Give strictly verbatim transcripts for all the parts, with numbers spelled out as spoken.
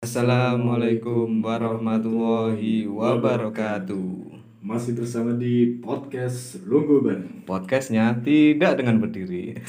Assalamualaikum warahmatullahi wabarakatuh. Masih bersama di podcast Lungguh Bareng. Podcastnya tidak dengan berdiri.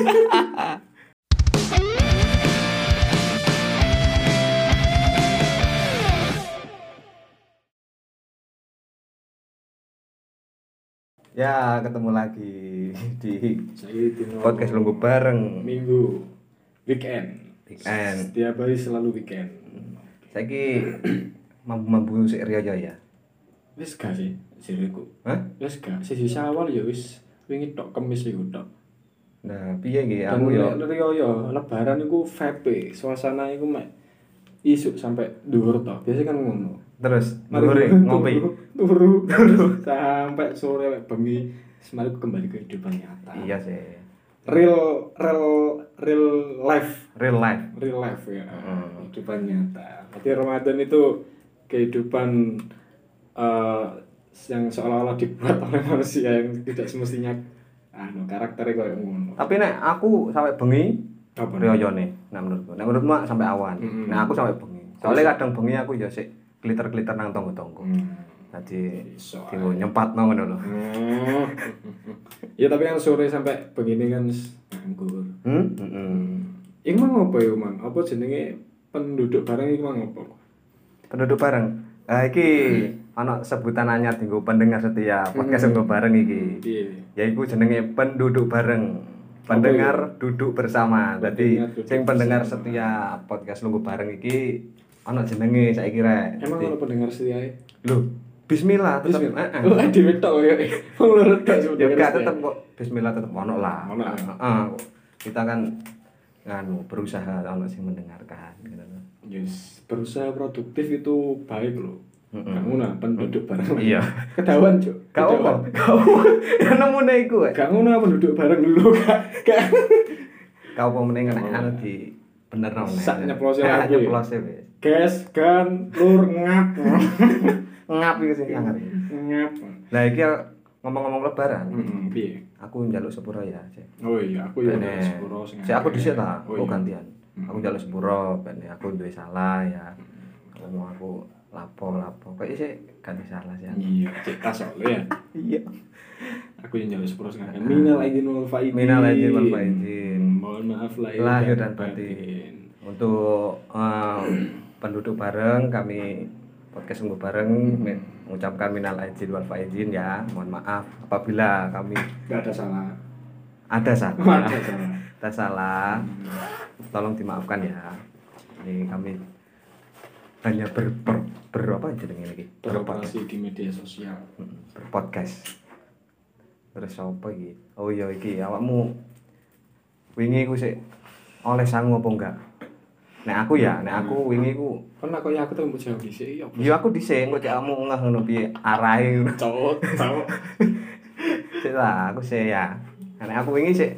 Ya, ketemu lagi di Saya Tino. podcast Lungguh Bareng. Minggu weekend. Weekend. Setiap hari selalu weekend. Saiki mampu-mampu sik riyo ya. Wis gak sih jariku. Hah? Wis gak sisi awal ya wis wingi tok kemis iku tok. Nah, piye iki Dan aku yo nek riyo yo lebaran iku vape, suasana iku mek isuk sampai dhuwur tok. Biasa kan ngono. terus Mari ngore turu, ngopi. turu, turu sampai sore mek bengi semari kembali ke kehidupan nyata. Iya sih. Real real real life. Real life. Real life ya. Hmm. Kehidupan nyata. Berarti Ramadan itu kehidupan uh, yang seolah-olah dibuat oleh manusia yang tidak semestinya anu karakternya kayak ngono. Tapi nek aku sampai bengi Apa? riyone, nah menurutku. Nek menurutmu sampai awan. Mm-hmm. Nah aku sampai bengi. Soalnya kadang bengi aku ya sik kliter-kliter nang tonggo-tonggo. Hmm. Jadi Iso digo nyempatno ngono lho. Hmm. Ya tapi kan sore sampai begini kan nganggur. Hmm? Heeh. Iku mang apa ya, Mang? Apa jenenge penduduk bareng iku mang apa? Penduduk bareng. Ah iki ana sebutan anyar dienggo pendengar setia podcast Hmm. Lungguh Bareng iki. Piye? Yaiku jenenge penduduk bareng. Pendengar duduk bersama. Dadi Pendengar duduk sing pendengar bersama. setia podcast Lungguh Bareng iki ana jenenge saiki rek. Emang Dadi- ono pendengar setia e? Lho, bismillah tetep. Bismillah. Heeh. Oh, dhewe tok ya. Wong loro tok Ya sebenarnya. enggak tetep kok bismillah tetep ono lah. Ono. Heeh. Kita kan nganu berusaha ono sing mendengarkan gitu loh. Yes, berusaha produktif itu baik loh. Mm-mm. Kamu nah penduduk bareng. Iya. Ketahuan, Cuk. Gak apa. Gak apa. Ya nemune iku. eh. Gak ngono penduduk bareng dulu, Kak. Gak. Kau apa meneh nek anu di bener nang. Sak nyeplose lagu ya. Nyeplose wis. Gas, gan, lur ngap. Ngap iku sing sangar. Ngap. Lah iki ngomong-ngomong lebaran. Heeh, piye? Aku njaluk sepuro ya, Cek. Oh iya, aku ya Bene. sepuro sing. Si aku dhisik ta, Oh aku iya. gantian. Aku njaluk sepuro, ben aku duwe salah ya. Ngomong aku lapo-lapo. Kok isih ganti salah sih. Iya, cek tas soalnya ya. Iya. Aku yang jalur sepuluh sekarang. Minal aidin wal faizin. Minal aidin wal faizin. Mohon maaf lahir, Lahir dan batin. Untuk eh, penduduk bareng kami podcast Lungguh Bareng men- mengucapkan minal aidin wal faizin ya. Mohon maaf apabila kami Gak ada salah. ada salah. Ada salah. Ada salah. Tolong dimaafkan ya. Ini kami hanya ber, ber, ber apa jenenge iki? Berpodcast. Beroperasi di media sosial. Mm, berpodcast. Terus apa iki? Oh iya iki awakmu wingi ku sik oleh sangu apa enggak? Nek aku ya, nek aku wingi ku Kan aku ya aku tuh mau jawab sih. Ya. yo aku dhisik engko cek kamu ngeh ngono piye arahe ngono. Cowok, cowok. Sik lah aku sik ya. Nek aku wingi sik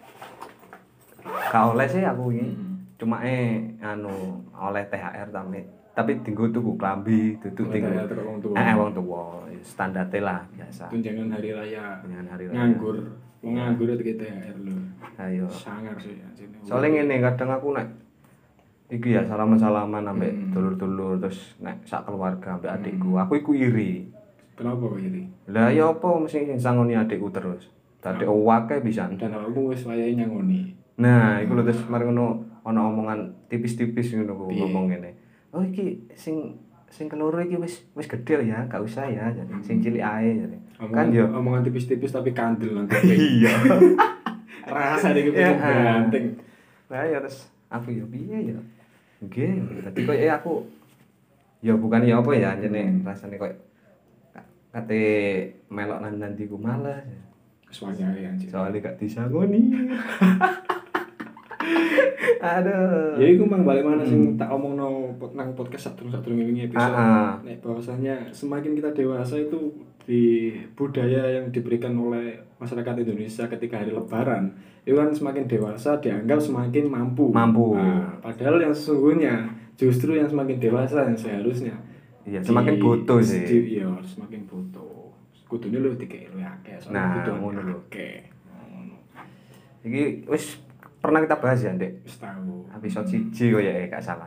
gak oleh sih aku wingi. Cuma eh anu oleh T H R tapi tapi dienggo tuku klambi, duduk Oleh dienggo. T H R terus wong tuwa. Eh wong tuwa, standarte lah biasa. Tunjangan hari raya. Dengan hari raya. Nganggur. Wong nganggur itu kita T H R lho. Ayo. Sangar sih anjing. Soalnya ngene kadang aku nek iki ya salaman-salaman ambek Hmm. dulur-dulur terus nek sak keluarga ambek adikku, aku iku iri. Kenapa kok ini? Lah ya apa mesti sing sangoni adikku terus. Dadi owake pisan. Dan aku wis wayahe nyangoni. Nah, iku lho terus mari ngono ana omongan tipis-tipis ngono ku Piye? ngomong ngene. Oh iki sing sing keloro iki wis wis gedhe ya, gak usah ya. Jadi sing cilik ae jadi. Kan Omongan, yo omongan tipis-tipis tapi kandel nanti. iya. Rasa dikit Ya, ganteng. Lah ya terus aku ya piye ya. Nggih, dadi koyo aku ya bukan ya apa ya jenenge rasane koyo ka- kate melok nang nandiku malas. Wis wayahe anjing. Soalnya gak disangoni. Aduh. Ya iku mang balik mana sing tak omongno pot- nang podcast satu-satu wingi episode. Ah, ah. Nek bahwasanya semakin kita dewasa itu di budaya yang diberikan oleh masyarakat Indonesia ketika hari lebaran itu kan semakin dewasa dianggap semakin mampu. Mampu. Nah, padahal yang sesungguhnya justru yang semakin dewasa yang seharusnya Iya, semakin butuh sih. di- iya, semakin butuh. Kudune lu dikek lu akeh, Nah, soalnya butuh ngono lho. akeh. Ngono. Iki wis pernah kita bahas ya, Ndek. Wis tahu. Episode siji kok ya gak salah.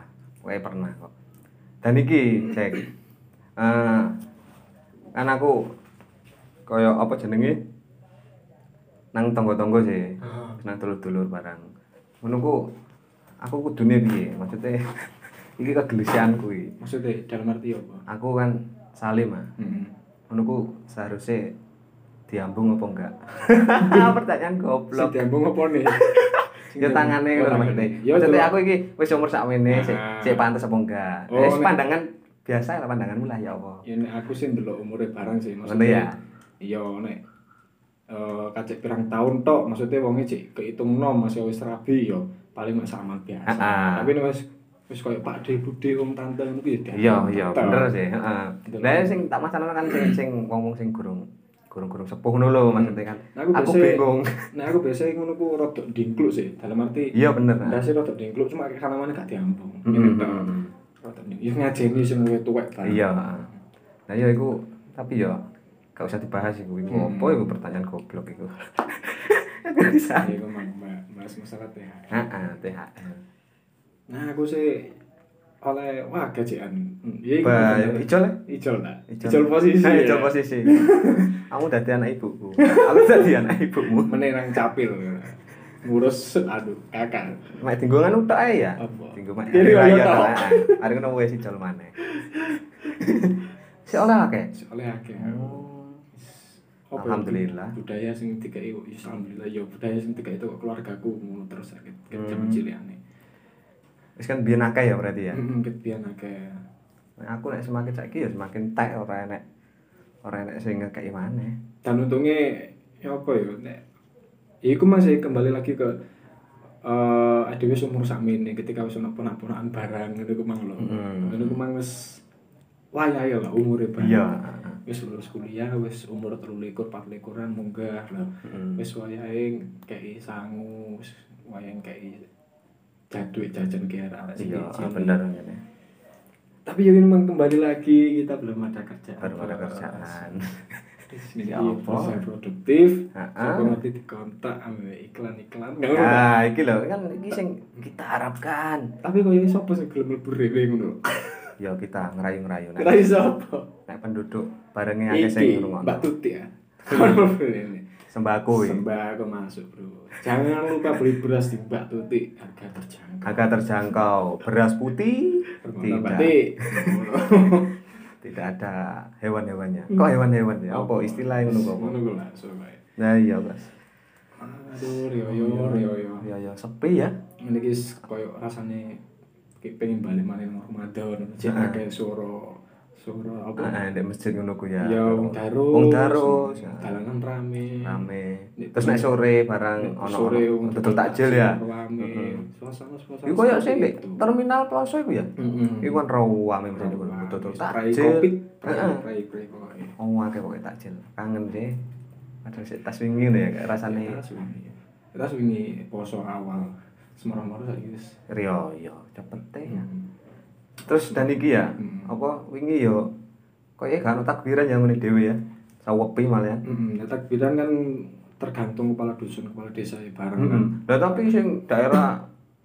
Kowe pernah kok. Dan iki cek eh kan aku kaya apa jenenge nang tonggo-tonggo sih. Heeh. Nang dulur-dulur barang. Ngono ku aku kudune piye? Maksudnya iki kegelisianku iki. Maksudnya dalam arti apa? Aku kan salim ah. Heeh. Ngono ku seharusnya diambung apa enggak? Pertanyaan goblok. Si diambung apa nih? Ya tangane ngono maksudnya. Maksudnya aku iki wis umur sakmene sik sik pantes apa enggak? Wis pandangan biasa lah pandanganmu lah ya apa. Ya nek aku sih ndelok umure barang sih Ngono ya. Iya nek eh kacek pirang tahun tok maksudnya wonge cek kehitung nom masih wis rabi yo paling mek sama biasa. Tapi nek wis wis koyo Pak De Bude om tante ngono kuwi ya. Iya iya bener sih, heeh. Lah sing tak masalah kan sing sing ngomong sing gurung gurung-gurung sepuh ngono lho maksudnya kan. Nah, aku, aku biasa, bingung. Nah aku biasa ngono ku rada dingkluk sih. Dalam arti Iya bener. ndase rada dingkluk cuma kana mana gak diambung. Mm Ngene -hmm. tok. Rada dingkluk. Ya ngajeni sing luwih tuwek banget. Iya. Nah ya iku tapi ya gak usah dibahas iku. Iku Hmm. apa iku pertanyaan goblok iku. Bisa. Iku mang bahas masalah T H L. Heeh, T H L. Nah aku sih oleh wah gajian. Iya iku. Ba ijol ya? Ijol lah. Ijol. Ijol posisi. Nah, ya. ijol posisi. Kamu dadi anak ibuku. Aku dadi anak ibumu. Menenang capil. Ngurus aduh kakak. Mek dinggo nganu tok ae ya. Apa? Dinggo mek Kiri raya raya tok. tok. Heeh. Hari ngono wis ijol maneh. Si oleh akeh. Oleh akeh. Apa ya, Alhamdulillah. budaya sing dikai ya alhamdulillah ya budaya sing dikai itu keluargaku ngono terus sakit ket jaman Hmm. cilikane. Wis kan biyen akeh ya berarti ya. Heeh ket biyen akeh. Nah, aku nek semakin saiki ya semakin tek ora enek ora enek sing ngekeki maneh. Dan untungnya ya apa ya nek ya iku masih kembali lagi ke eh uh, wis umur sakmene ketika wis ono ponak-ponakan barang ngono ku mang lho. Hmm. Ngono ku mang wis wayahe lah umure barang. Iya. Wis lulus kuliah wis umur telu likur empat likuran munggah lah. Heeh. Wis wayahe kei sangu, wis wayahe kei jaduit jajan ke arek Iya, bener ngene. Tapi ya memang kembali lagi kita belum ada kerjaan. Baru ada kerjaan. Ini Ya apa? proses produktif. Heeh. Aku nanti dikontak ambil iklan-iklan. Nah, iki lho kan iki sing kita harapkan. Tapi kok ya sapa sing gelem mlebu rewe ngono? Ya kita ngerayu-ngerayu nek Kira sapa? nek penduduk barenge akeh sing Iki ngrungokno. Mbak Tuti ya. Ini. Sembako iki. Sembako masuk, Bro. Jangan lupa beli beras di Mbak Tuti harga terjangkau. Harga terjangkau. Beras putih Tidak. tidak. Tidak ada hewan-hewannya. Kok hewan-hewan ya? Apa istilahnya ngono kok? Ngono ku lah soalnya. Nah iya, Mas. Aduh, yo yo yo yo. Ya ya sepi ya. Ini guys koyo rasane kayak pengen balik maneh nang Ramadan. Cek akeh suara suara apa? Ah, ndek masjid ngono ku ya. Ya wong darus. Wong darus. Dalanan rame. Rame. Terus nek sore barang ono sore wong betul takjil ya. Rame. Suasana-suasana. Iku koyo sing ndek terminal Plaza iku ya. Heeh. Iku kan rame masjid iku betul Spray takjil. kopi. Heeh. Spray spray pokoke. Oh, akeh pokoke takjil. Kangen deh. Padahal sik tas wingi ngono ya kayak rasane. Kita suwi. Kita suwi poso awal. Semarang-marang saiki wis. Rio yo cepet teh ya. Terus dan iki ya, Hmm. apa wingi yo koyo gak ono takbiran yang ngene dhewe ya. Sawepi malah ya. Heeh, nah, takbiran kan tergantung kepala dusun, kepala desa ya bareng kan. Heeh. Lah tapi sing daerah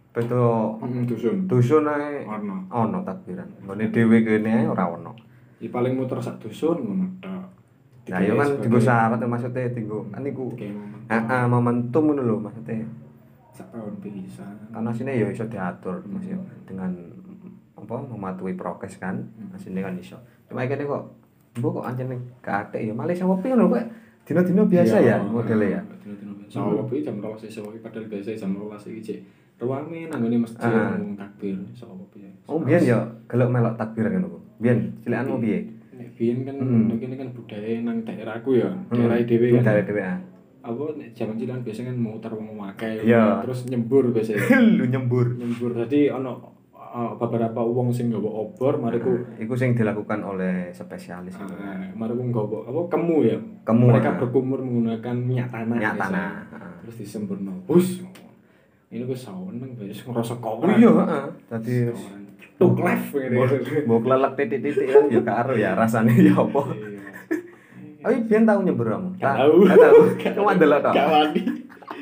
beda Heeh, dusun. dusun ae Ono. ono takbiran. Ngene dhewe kene ae ora ono. Ya paling muter sak dusun ngono tok. Nah, yo kan dienggo syarat maksudnya dienggo kan iku. Kayak momen. Heeh, momentum ngono lho maksudnya. Sak tahun bisa. Karena sini ya iso diatur Mas yo dengan apa mematuhi prokes kan. Asine kan iso. Cuma kene kok mbok kok anjene gak atek ya malah sawepi ngono kok dina-dina biasa ya modele ya. Dina-dina biasa. Sawepi jam dua belas sawepi padahal biasa jam dua belas iki cek. Ruame nang ngene masjid Ah. ngomong takbir sawepi. Oh biyen ya gelek melok takbiran ngono ku. Biyen cilikanmu piye? Nek biyen kan Hmm. kene kan budaya nang daerahku ya, daerah dhewe kan. Daerah dhewe ah. Apa nek jaman cilik biasanya kan muter wong akeh Iya. terus nyembur biasanya. Lu nyembur. Nyembur tadi ono uh, beberapa wong sing nggawa obor mariku Iku sing dilakukan oleh spesialis itu. uh, mariku nggawa apa kemu ya. Kemu, Mereka ah. berkumur menggunakan minyak tanah. Minyak biasanya. tanah, ah. Terus disemburno. Bus. Ini gue seneng guys ngerasa Oh koran. iya, heeh. Dadi tuk live ngene. mbok klelek titik-titik kan ya karo ya rasane ya apa. Iya. Tapi biyen tau nyembur kamu? Gak tahu. Gak tahu. Cuma ndelok tok. Gak wani.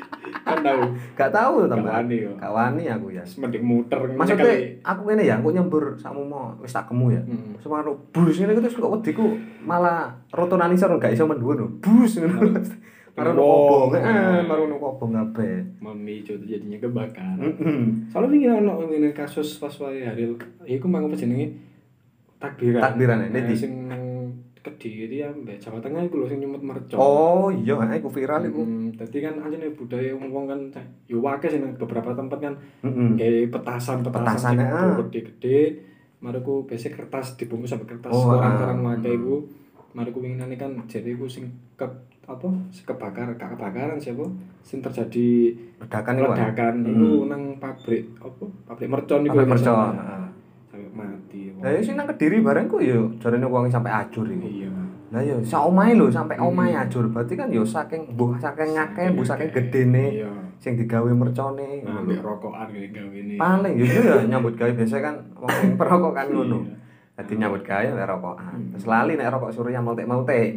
Kan tahu. Gak tahu Gak tambah. wani yo. Gak wani aku ya. Mending muter ngene Maksudnya kali. aku ngene ya, aku nyembur sakmu mau wis tak gemu ya. Hmm. Semaro bus ngene terus kok wediku malah rotonan isor gak iso mendhuwur lho. Bus ngono. Karo Wong. kobong, heeh, karo kobong kabeh. Memicu jadinya kebakaran. Heeh. Soalnya wingi ono ngene kasus pas wae hari iku mang apa jenenge takbiran. Takbiran, Nah, ndi? sing nang Kediri ya mbek Jawa Tengah iku lho sing nyumet mercon. Oh, iya, heeh, iku viral iku. Hmm, dadi kan anjene budaya wong kan yo akeh sing nang beberapa tempat kan Heeh. kayak petasan-petasan Petasan, sing ah. gede-gede. Mariku biasa kertas dibungkus sampai kertas Oh, koran-koran ah. wae iku. Mariku winginane kan jadi iku sing ke apa kebakaran gak kebakaran siapa sing terjadi Ledakan iku. ledakan Hmm. iku nang pabrik apa pabrik mercon iku Pabrik mercon, sampai- heeh. sampai mati wong. Lah ya sing nang Kediri bareng kok ya jarene wong sampai ajur iku. Iya. Lah ya sak omahe lho sampai Hmm. omahe ajur. Berarti kan ya saking mbuh saking ngakeh, mbuh saking gedene Iya. sing digawe mercone Nah, ngono ambek lho. rokokan kayak gawe ini. Paling ya itu ya nyambut gawe biasa kan wong sing perokok kan ngono. Iya. Dadi nyambut gawe nek rokokan. Hmm. Terus lali nek rokok surya meltek-meltek.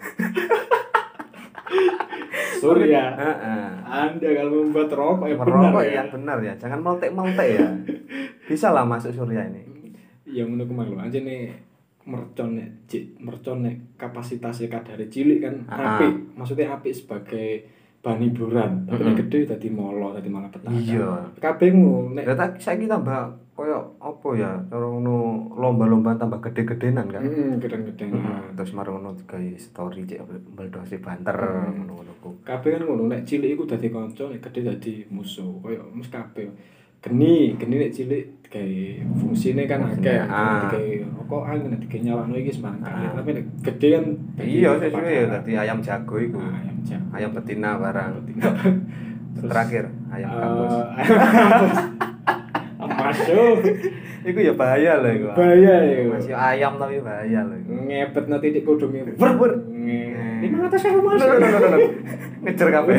Surya. Heeh. Anda kalau membuat rokok yang benar Merokok ya. yang benar ya, jangan meltek-meltek ya. Bisa lah masuk surya ini. Ya ngono ku mang lho anjene mercon nek cik mercon nek kapasitasnya kadare cilik kan Ah. apik. Maksudnya apik sebagai bahan hiburan. Tapi nek Mm-mm. gede dadi molo, dadi malah petaka. Iya. Kabeh ngono nek Ya tak saiki tambah koyo apa ya, cara ngono lomba-lomba tambah gede-gedenan kan. heeh gedeng-gedeng. Heeh, terus marang ngono gawe story cek meledosi banter Hmm. ngono-ngono ku. Kabeh kan ngono nek cilik iku dadi kanca, nek gede dadi musuh. Kaya mesti kabeh. Geni, geni nek cilik gawe fungsine kan akeh. Ah. Digawe rokokan, nek digawe nyalano iki sembarang kali. Ah. Tapi nek gede kan Iya, sesuai ya dadi ayam jago iku. Ah, ayam jago. Ayam betina barang. Terus, Terakhir ayam kampus. Eh, ayam kampus. Masuk. Iku ya bahaya loh iku. Bahaya iku. Masih ayam tapi bahaya loh iku. Ngepet nanti titik kudungnya. Ber, ber. Lima ratus saya mas. Loh, loh, loh, loh, loh. Ngejar kabeh.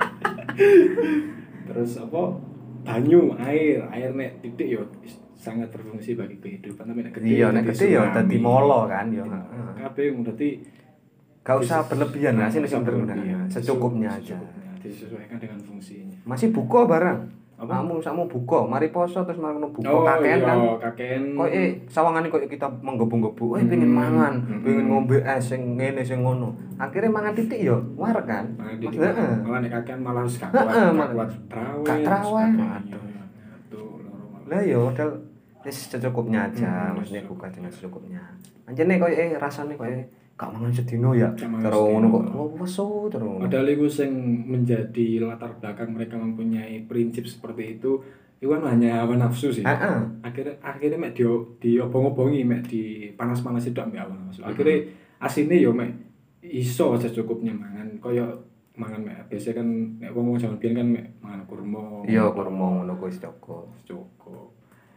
Terus apa? Banyu, air, air nek titik yo sangat berfungsi bagi kehidupan. Tapi nek gede, Iya, nek dadi gede ya tsunami. dadi molo kan ya. Heeh. Kabeh berarti Gak usah berlebihan lah sih usah sebenarnya. berlebihan. Secukupnya aja. Secukupnya, disesuaikan dengan fungsinya. Masih buka barang. Apa? Kamu sakmu buka, mari poso terus mari ngono buka Oh, kakean iya, kan. kakean. Kok eh sawangane kok kita menggebu-gebu, eh Hmm. pengen mangan, Hmm. pengen ngombe es sing ngene sing ngono. Akhirnya mangan titik yo war kan. Malah di Heeh. malah nek kakean malah harus gak Heeh, kuat, gak malah- kuat traweh. gak traweh. Aduh. Aduh, loro malah. Lah yo modal wis secukupnya aja, Hmm. maksudnya buka dengan secukupnya. Anjene koyo eh rasane koyo gak mangan sedino ya. Gak mangan Terus ngono kok sedino. oh wesu terus. ngono. Padahal itu yang menjadi latar belakang mereka mempunyai prinsip seperti itu, itu kan hanya hawa nafsu sih. Heeh. Akhirnya akhirnya mek di di obong-obongi mek di panas-panas itu ambek hawa nafsu. Akhirnya asine yo mek iso aja cukupnya mangan kaya mangan mek biasa kan nek wong jaman biyen kan mek mangan kurma. Iya kurma ngono kuwi wis cukup. cukup.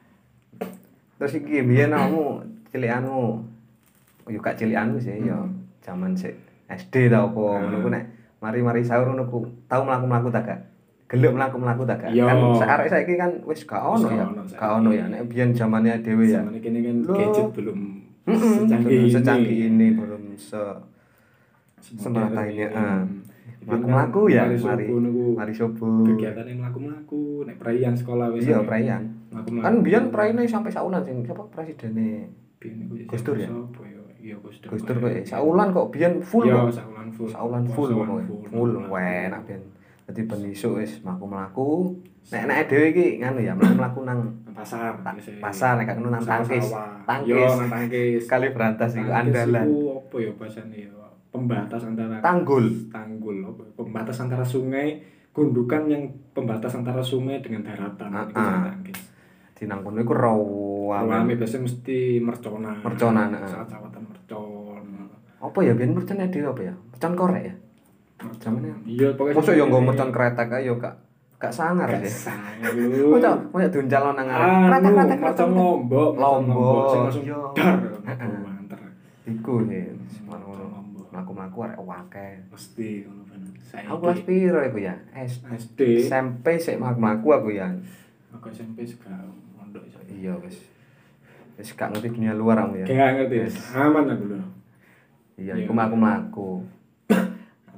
Terus iki biyen kamu cilikanmu yo gak cilikanmu sih yo Hmm. jaman sik S D ta apa Hmm. ngono ku nek mari-mari sahur ngono ku tau mlaku-mlaku ta gak? Gelem mlaku-mlaku ta gak? Iya. Kan sekarek saiki kan wis gak ono Wis ya. gak ono saiki. Gak ono ya nek biyen zamane dhewe ya. Zaman ini kan Loh. gadget belum Mm-mm, secanggih belum ini. secanggih ini belum se Semodern semerata ini, ini. ah. Biyen Mlaku-mlaku kan ya, mari mari subuh niku mari subuh. kegiatan yang mlaku-mlaku nek perayaan sekolah wis Iya, ana. perayaan. Mlaku-mlaku. Kan biyen praine sampai saulan sing siapa presidennya Biyen niku Gus Dur ya? Sapa ya? Iya Gus Dur. Gus Dur kok eh, saulan kok biyen full Iya, kok. saulan full. Saulan full Saulan pokoknya. full. Full enak biyen. Dadi ben isuk wis mlaku-mlaku. Nek nek dhewe iki nganu ya, mlaku-mlaku nang Nang pasar. Ta- biasanya. pasar, nek gak ngono nang tangkis. Sawah-sawah. Tangkis. Iya, nang tangkis. Kali berantas iku Tangkis andalan. iku apa ya bahasane ya? Pembatas antara Tanggul. tanggul apa? Pembatas antara sungai, gundukan yang pembatas antara sungai dengan daratan. Ah, Itu ah. jenenge tangkis. Di nang kono iku rawa. Rame biasanya mesti merconan. Merconan, ah. Saat-saatan mercon. Apa ya biyen mercone dhewe apa ya? Mercon korek ya? Zamane. Iya, pokoknya Mosok yo nggo ini- mercon kretek ae yo gak gak sangar Gak sih. sangar lu. Mosok mosok duncalon nang arep. Anu, Kretek-kretek macam lombok, Lombok, sing langsung iya. dar. Heeh. Banter. Iku sih, ngono ngono. Lombok. Mlaku-mlaku arek akeh. Mesti ngono kan. Saiki Aku kelas piro iku ya? S S D. S M P sik mlaku aku ya. Aku S M P juga mondok iso. Iya wis. Wis gak ngerti dunia luar aku ya. Gak ngerti. Wis. Aman aku lho. Iya, Iya. iku mlaku-mlaku.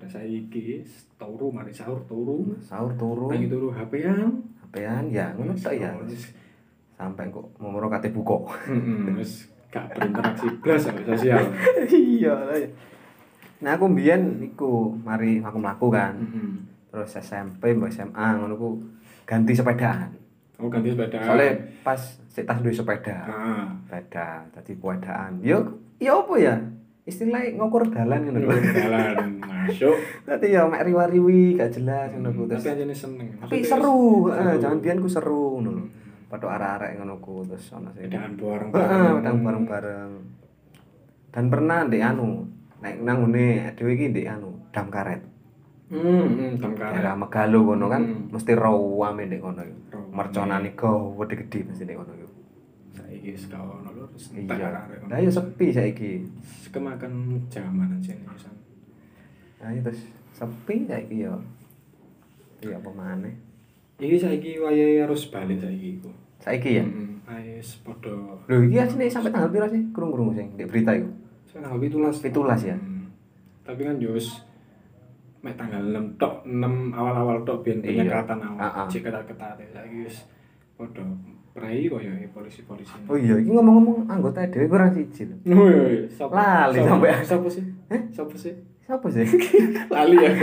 pada saiki turu mari sahur turu. Sahur turu. Pengen turu H P-an. H P-an ya ngono tok ya. Sampai kok momoro kate buka. Heeh, wis gak berinteraksi blas sama sosial. Iya lah. Nah aku mbiyen iku mari aku mlaku kan. Heeh. Terus S M P mbok S M A ngono ku ganti sepedaan. Oh ganti sepeda. Soalnya pas sik tas duwe sepeda. Ah. Sepeda dadi sepedaan. Yo yo apa ya? Istilahnya ngukur dalan ngono lho. Dalan masuk. Dadi ya mek riwa-riwi gak jelas ngono ku terus. Tapi anjene seneng. Tapi seru, heeh, jaman biyen ku seru ngono lho. Padha arek-arek ngono ku terus ana sing Sepedaan bareng. heeh, wedang bareng-bareng. Dan pernah ndek anu, nek nang ngene dhewe iki ndek anu, dam karet. Hmm, hmm, dam karet. Daerah Megalo kono kan Hmm. mesti rawame ndek kono iku. Rawame. Merconane go gede-gede mesti ndek kono iku. Saiki wis gak ono lho terus Iya. arek-arek. Lah ya sepi saiki. Kemakan zaman aja nih san. Nah, itu sepi saiki ya. Iya apa maneh? Iki saiki wayahe harus balik saiki iku. Saiki ya. Heeh. Wis padha Lho iki asline sampai tanggal piro sih? Krungu-krungu sing ndek berita iku. tanggal pitulas. pitulas ya. Hmm. Tapi kan yo wis mek tanggal enam tok, enam awal-awal tok biyen Iya. penyekatan awal. Ah, ah. Cek ketat-ketat saiki wis padha prei koyo polisi-polisi. Oh iya, iki ngomong-ngomong anggota dhewe kurang siji lho. Oh iya, sapa? Lali Sapa- sampe. Sapa sih? Heh? Sapa sih? Siapa sih? Lali ya.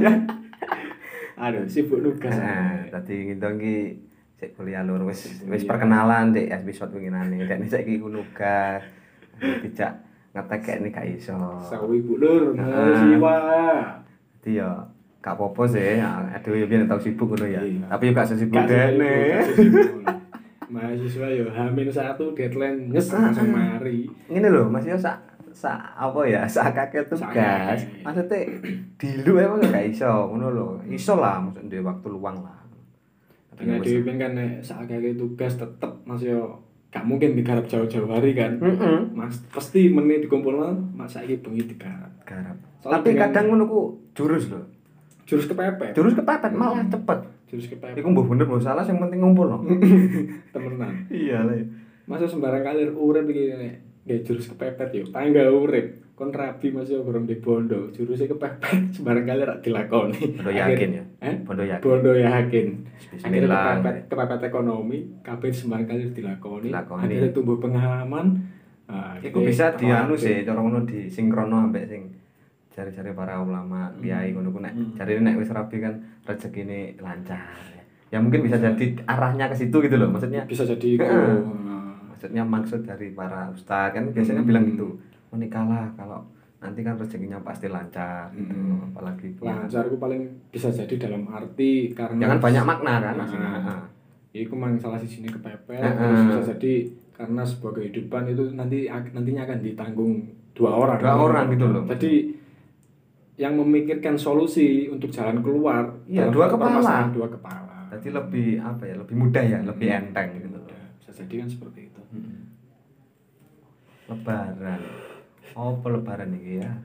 Aduh, sibuk nugas. Nah, tadi gitu iki sik kuliah lur wis wis Iya. perkenalan dek episode winginane. Dek saiki ku nugas. Dijak ngetek nek gak iso. Sawi Bu Lur, Ah. siwa. Dadi ya gak apa-apa sih. Aduh ya biyen tau sibuk ngono ya. Iya. Tapi yo gak sesibuk Gak dene. sibuk, gak sibuk. Mahasiswa yo Hamin satu deadline nyes langsung mari. Ngene lho, Mas yo sak sak apa ya, sak kakek tugas. Sak- Maksudnya dilu emang gak iso ngono lho. Iso lah maksud duwe waktu luang lah. Karena wis- Dewi kan nek sakake tugas tetep Mas yo gak mungkin digarap jauh-jauh hari kan. Heeh. Mas pasti menit dikumpulno Mas saiki bengi digarap. Garap. Soalnya Tapi dengan- kadang ngono ku jurus lho. Jurus kepepet. Jurus kepepet malah cepet. Jurus kepepet. Iku mbok bener mbok salah sing penting ngumpul no. Temenan. Iya lah. Masa sembarang kali urip iki nek nggih jurus kepepet yo. Tangga urip. Kon rabi Mas yo gorong di bondo. Jurusnya kepepet sembarang kali rak dilakoni. Bondo yakin ya. Eh? Bondo yakin. Bondo yakin. Akhirnya Bismillah. kepepet, kepepet ekonomi, kabeh sembarang kali dilakoni. Dilakoni. Akhirnya tumbuh pengalaman. Nah, Iku akhirnya bisa dianu terlatih. sih, cara ngono disinkrono ambek sing jari-jari para ulama, kiai ngono ku nek Hmm. jarine nek wis rapi kan rezekine lancar. Ya mungkin bisa jadi arahnya ke situ gitu loh. Maksudnya Bisa jadi itu. Heeh. Nah, maksudnya maksud dari para ustaz kan biasanya Hmm. bilang gitu. Menikahlah kalau nanti kan rezekinya pasti lancar gitu. Hmm. Apalagi lancar itu paling bisa jadi dalam arti karena jangan banyak makna kan Nah, maksudnya. Heeh. Iku mang salah sini kepepet, Heeh. terus bisa jadi karena sebuah kehidupan itu nanti nantinya akan ditanggung dua orang. Dua orang gitu loh. Jadi yang memikirkan solusi untuk jalan keluar Iya, dalam dua suatu kepala. permasalahan, dua kepala. Jadi lebih apa ya? Lebih mudah ya, lebih enteng gitu. Ya, bisa jadi kan seperti itu. Hmm. Lebaran. Oh, lebaran iki ya.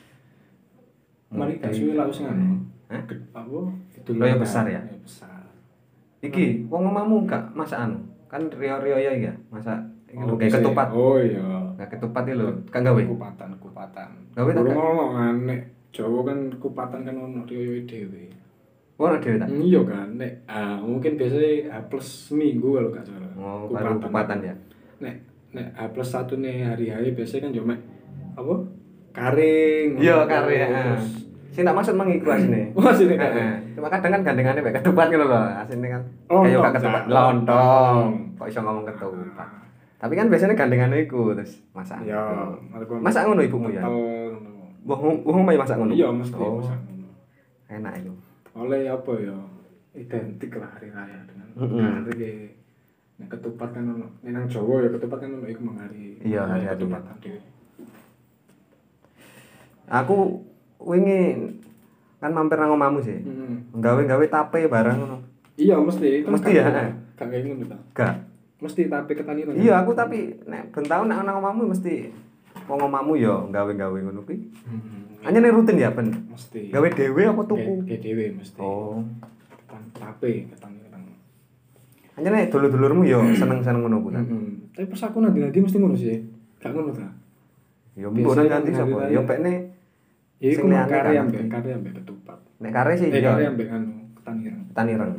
Mari gak suwe lah wis ngono. Hah? Ged- Apa? Itu Oh, ya besar ya? besar. Iki, wong omamu gak masak anu? Kan rio-rio ya ya, masak iki lho kayak bisa ya. ketupat. Oh iya. Gak ketupat iki lho, kan gawe. Kupatan, kupatan. Gawe tak, Burung Kak? ono kan nek Jawa kan kupatan kan ono riyo dhewe. Ora dhewe tak. Iya kan, nek ah, mungkin biasanya H plus seminggu kalau gak salah. Oh, baru kupatan ya. Nek nek H plus satu nih hari-hari biasanya kan cuma apa? Karing. Iya, kare ya. Terus Sing tak maksud mang iku asine. Wah, sini kan. Heeh. Cuma kadang kan gandengane mek ketupat gitu loh, asine kan. Lontong, Kayak gak ketupat, Cak. lontong. Kok iso ngomong ketupat. Tapi kan biasanya gandengane iku terus masak. Ya, Gitu. Masak ngono ibumu ya? Kental. Wong wong masak ngono. Iya, mesti Oh, masak ngono. enak itu. Oleh apa ya? Identik lah hari raya dengan Mm-mm. hari nek ketupat kan ono. Nek nang Jawa ya ketupat kan ono iku mengari. Iya, hari-hari. ketupat dhewe. Aku wingi kan mampir nang omamu sih. Heeh. Gawe-gawe tape barang ngono. Iya mesti. Kan Mesti gak- ya, eh? Gak kayak ngono ta. Gak. Mesti tapi ketani to. Iya, aku tapi nek ben tau nek nang omamu mesti wong omamu ya gawe-gawe ngono kuwi. Hmm. Hanya nih rutin ya, ben. Mesti. Gawe dhewe apa tuku? Kayak dhewe mesti. Oh. Ketan tape, ketan ketan. Hanya nih dulur-dulurmu ya seneng-seneng ngono kuwi. Heeh. Tapi pas aku nanti nanti mesti ngono sih. Gak ngono ta. Ya mbok nang Biasanya ganti kan sapa? hari Ya raya. pekne Ya iku Sing mah liyane kare gak ambek ngerti. kare ambek ketupat. Nek kare sih Eh iya. kare ambek anu ketan ireng. Ketan ireng.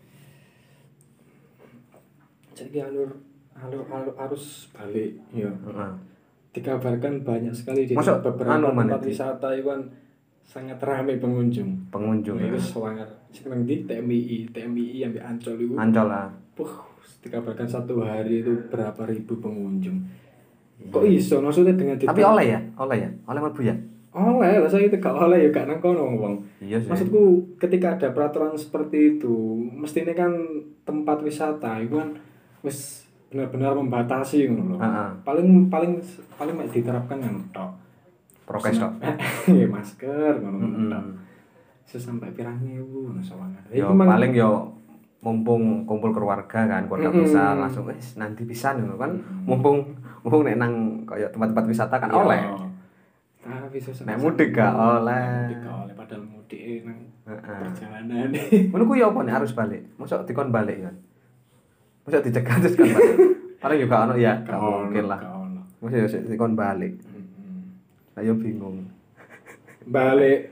Jadi alur alur alur arus balik ya. Heeh. Dikabarkan banyak sekali di Masuk beberapa anu mana tempat di- wisata itu kan sangat ramai pengunjung. Pengunjung. Nah, itu ya. sewangar. Sekarang di T M I I, T M I I ambil Ancol itu. Ancol lah. Puh, dikabarkan satu hari itu berapa ribu pengunjung. Kok iso? Maksudnya dengan Tapi oleh ya, oleh ya, oleh mlebu ya. Oleh, lah saya itu gak oleh ya gak nang kono wong. Iya sih. Maksudku ketika ada peraturan seperti itu, mestinya kan tempat wisata itu kan wis benar-benar membatasi ngono lho. Heeh. Paling paling paling mek diterapkan yang tok. Prokes tok. Ya masker ngono Mm-mm. tok. Sesampai pirang ewu ngono sawangan. Yo paling yo mumpung kumpul keluarga kan, keluarga Mm-mm. besar langsung wis nanti pisan ngono kan. Mumpung mumpung nek nang kaya tempat-tempat wisata kan oleh. Tapi sesampai Nek mudik gak oleh. Mudik gak oleh padahal mudik nang Heeh. perjalanan. Ngono ku yo apa nek harus balik? Mosok dikon balik kan. Mosok dicegat terus kan balik. Paling juga ono ya, gak mungkin lah. Gak ono. Mosok yo dikon balik. Mm-mm. Lah yo bingung. Balik.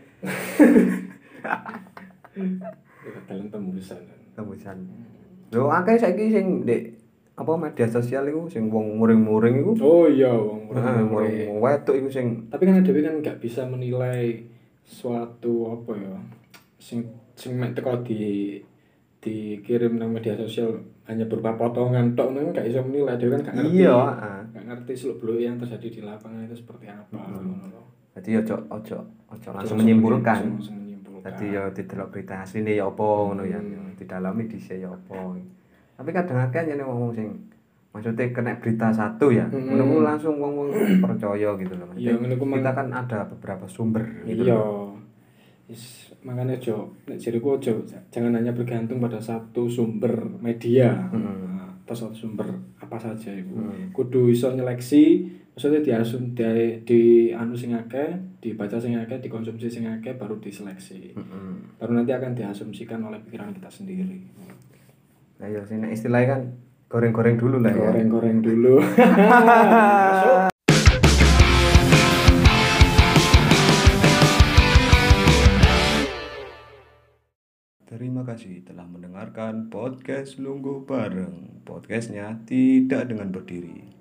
Ya dalam tembusan. Tembusan. Yo akeh saiki sing ndek apa media sosial iku sing wong muring-muring iku. Oh iya, wong Heeh, muring. muring wedok iku sing Tapi kan Dewi kan nggak bisa menilai suatu apa ya, sing sing mek teko di dikirim nang media sosial hanya berupa potongan tok kan nggak bisa menilai. Dewi kan nggak ngerti. iya, heeh. Nggak ngerti seluk-beluk yang terjadi di lapangan itu seperti apa. ngono lho. Dadi ojo ojo ojo langsung menyimpulkan. Langsung menyimpulkan. Dadi yo didelok berita asline ya apa ngono ya. Hmm. Didalami dhisik ya apa. Tapi kadang akeh nyene wong sing maksudnya kena berita satu ya. Hmm. Ngono ku langsung wong-wong percaya gitu loh. Iya, ngono ku mang- Kita kan ada beberapa sumber gitu Iya. loh. Is, makanya Jo, nek jariku Jo, jangan hanya bergantung pada satu sumber media. Hmm. Nah, atau satu sumber apa saja iku. Hmm. Kudu iso nyeleksi, maksudnya diasum di, di anu sing akeh, dibaca sing akeh, dikonsumsi sing akeh baru diseleksi. Heeh. Baru nanti akan diasumsikan oleh pikiran kita sendiri. Lah yo sing nek istilahnya kan goreng-goreng dulu lah ya. Goreng-goreng dulu. Terima kasih telah mendengarkan podcast Lungguh Bareng. Podcastnya tidak dengan berdiri.